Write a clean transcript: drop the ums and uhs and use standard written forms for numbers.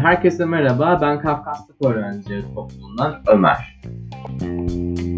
Herkese merhaba, ben Kafkas Tıp Öğrencileri Topluluğundan Ömer.